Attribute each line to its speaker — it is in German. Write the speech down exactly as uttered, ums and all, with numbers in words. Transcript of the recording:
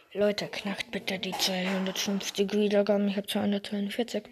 Speaker 1: Leute, knackt bitte die zweihundertfünfzig Wiedergaben. Ich habe zweihundertzweiundvierzig.